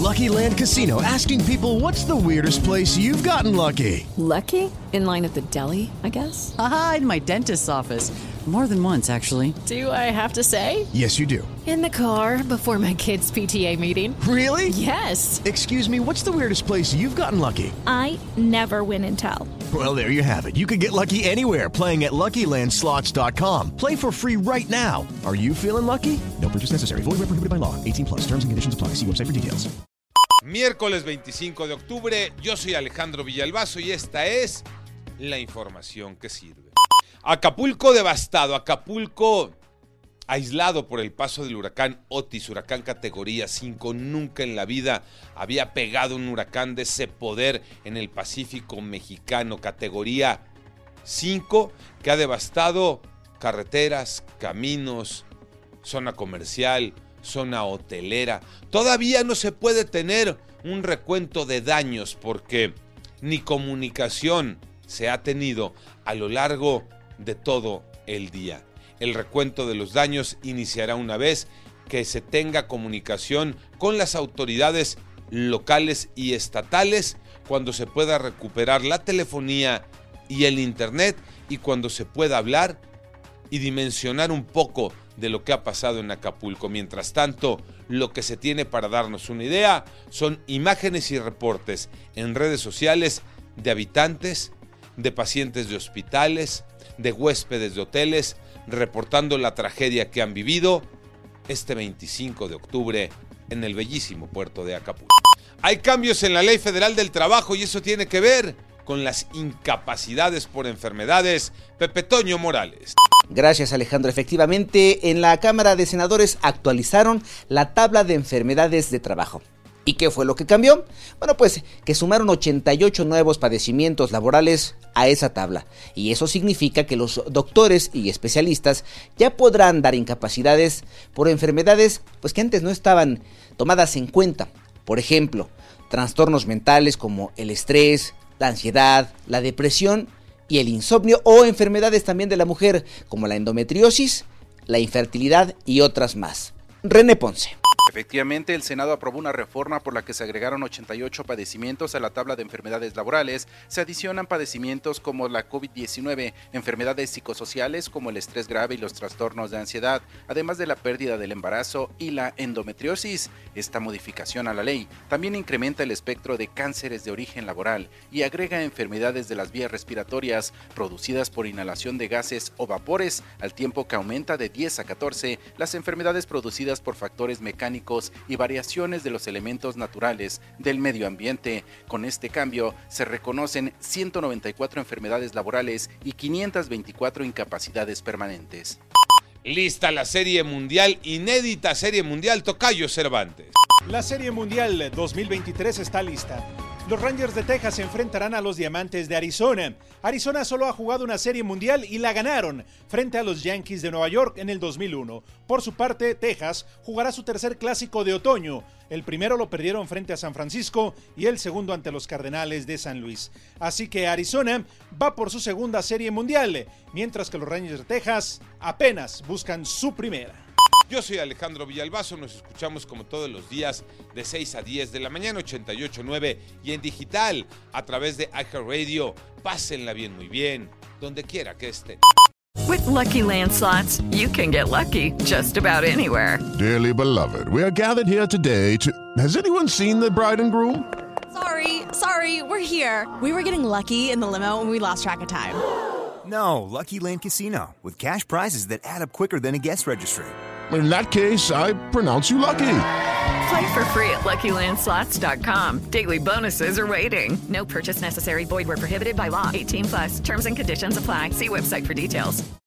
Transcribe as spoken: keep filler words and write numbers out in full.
Lucky Land Casino, asking people, what's the weirdest place you've gotten lucky? Lucky? In line at the deli, I guess? Aha, in my dentist's office. More than once, actually. Do I have to say? Yes, you do. In the car before my kids' P T A meeting. Really? Yes. Excuse me, what's the weirdest place you've gotten lucky? I never win and tell. Well, there you have it. You can get lucky anywhere, playing at Lucky Land Slots dot com. Play for free right now. Are you feeling lucky? No purchase necessary. Void where prohibited by law. eighteen plus. Terms and conditions apply. See website for details. Miércoles veinticinco de octubre, yo soy Alejandro Villalbazo y esta es la información que sirve. Acapulco devastado, Acapulco aislado por el paso del huracán Otis, huracán categoría cinco. Nunca en la vida había pegado un huracán de ese poder en el Pacífico mexicano, categoría cinco, que ha devastado carreteras, caminos, zona comercial, zona hotelera. Todavía no se puede tener un recuento de daños porque ni comunicación se ha tenido a lo largo de todo el día. El recuento de los daños iniciará una vez que se tenga comunicación con las autoridades locales y estatales, cuando se pueda recuperar la telefonía y el internet y cuando se pueda hablar y dimensionar un poco de lo que ha pasado en Acapulco. Mientras tanto, lo que se tiene para darnos una idea son imágenes y reportes en redes sociales de habitantes, de pacientes de hospitales, de huéspedes de hoteles, reportando la tragedia que han vivido este veinticinco de octubre en el bellísimo puerto de Acapulco. Hay cambios en la Ley Federal del Trabajo y eso tiene que ver con las incapacidades por enfermedades. Pepe Toño Morales. Gracias, Alejandro. Efectivamente, en la Cámara de Senadores actualizaron la tabla de enfermedades de trabajo. ¿Y qué fue lo que cambió? Bueno, pues que sumaron ochenta y ocho nuevos padecimientos laborales a esa tabla. Y eso significa que los doctores y especialistas ya podrán dar incapacidades por enfermedades pues que antes no estaban tomadas en cuenta. Por ejemplo, trastornos mentales como el estrés, la ansiedad, la depresión y el insomnio, o enfermedades también de la mujer como la endometriosis, la infertilidad y otras más. René Ponce. Efectivamente, el Senado aprobó una reforma por la que se agregaron ochenta y ocho padecimientos a la tabla de enfermedades laborales. Se adicionan padecimientos como la COVID diecinueve, enfermedades psicosociales como el estrés grave y los trastornos de ansiedad, además de la pérdida del embarazo y la endometriosis. Esta modificación a la ley también incrementa el espectro de cánceres de origen laboral y agrega enfermedades de las vías respiratorias producidas por inhalación de gases o vapores, al tiempo que aumenta de diez a catorce las enfermedades producidas por factores mecánicos y variaciones de los elementos naturales del medio ambiente. Con este cambio se reconocen ciento noventa y cuatro enfermedades laborales y quinientas veinticuatro incapacidades permanentes. Lista la Serie Mundial, inédita Serie Mundial, Tocayo Cervantes. La Serie Mundial dos mil veintitrés está lista. Los Rangers de Texas se enfrentarán a los Diamantes de Arizona. Arizona solo ha jugado una Serie Mundial y la ganaron frente a los Yankees de Nueva York en el dos mil uno. Por su parte, Texas jugará su tercer clásico de otoño. El primero lo perdieron frente a San Francisco y el segundo ante los Cardenales de San Luis. Así que Arizona va por su segunda Serie Mundial, mientras que los Rangers de Texas apenas buscan su primera. Yo soy Alejandro Villalbazo, nos escuchamos como todos los días de seis a diez de la mañana, ochenta y ocho punto nueve, y en digital a través de iHeartRadio. Pásenla bien, muy bien, donde quiera que estén. With Lucky Land Slots, you can get lucky just about anywhere. Dearly beloved, we are gathered here today to... Has anyone seen the bride and groom? Sorry, sorry, we're here. We were getting lucky in the limo and we lost track of time. No, Lucky Land Casino, with cash prizes that add up quicker than a guest registry. In that case, I pronounce you lucky. Play for free at Lucky Land Slots dot com. Daily bonuses are waiting. No purchase necessary. Void where prohibited by law. eighteen plus. Terms and conditions apply. See website for details.